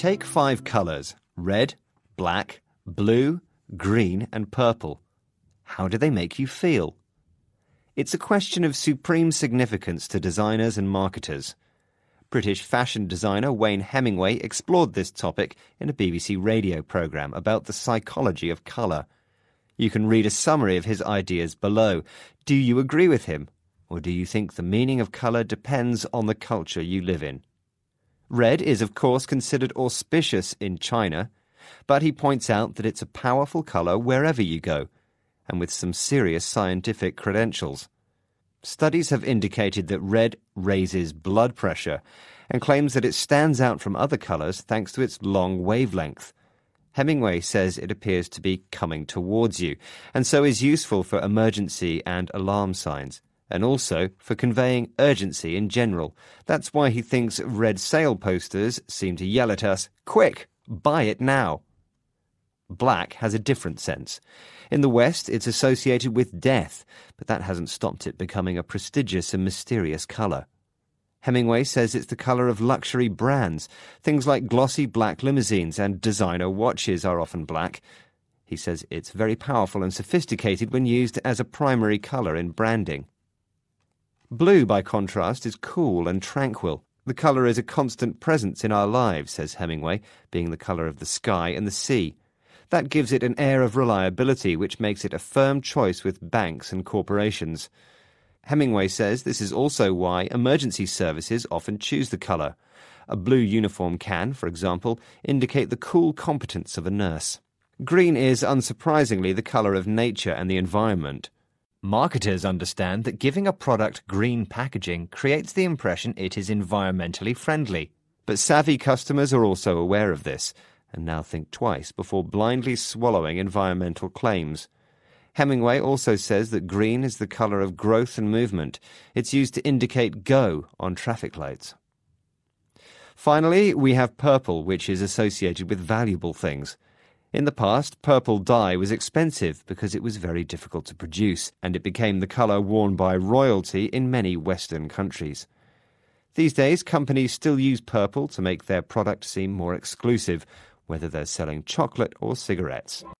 Take 5 colours: red, black, blue, green and purple. How do they make you feel? It's a question of supreme significance to designers and marketers. British fashion designer Wayne Hemingway explored this topic in a BBC radio programme about the psychology of colour. You can read a summary of his ideas below. Do you agree with him? Or do you think the meaning of colour depends on the culture you live in? Red is, of course, considered auspicious in China, but he points out that it's a powerful colour wherever you go, and with some serious scientific credentials. Studies have indicated that red raises blood pressure and claims that it stands out from other colours thanks to its long wavelength. Hemingway says it appears to be coming towards you, and so is useful for emergency and alarm signs, and also for conveying urgency in general. That's why he thinks red sale posters seem to yell at us, "Quick, buy it now." Black has a different sense. In the West, it's associated with death, but that hasn't stopped it becoming a prestigious and mysterious colour. Hemingway says it's the colour of luxury brands. Things like glossy black limousines and designer watches are often black. He says it's very powerful and sophisticated when used as a primary colour in branding. Blue, by contrast, is cool and tranquil. The colour is a constant presence in our lives, says Hemingway, being the colour of the sky and the sea. That gives it an air of reliability, which makes it a firm choice with banks and corporations. Hemingway says this is also why emergency services often choose the colour. A blue uniform can, for example, indicate the cool competence of a nurse. Green is, unsurprisingly, the colour of nature and the environment. Marketers understand that giving a product green packaging creates the impression it is environmentally friendly. But savvy customers are also aware of this, and now think twice before blindly swallowing environmental claims. Hemingway also says that green is the colour of growth and movement. It's used to indicate go on traffic lights. Finally, we have purple, which is associated with valuable things. In the past, purple dye was expensive because it was very difficult to produce, and it became the colour worn by royalty in many Western countries. These days, companies still use purple to make their product seem more exclusive, whether they're selling chocolate or cigarettes.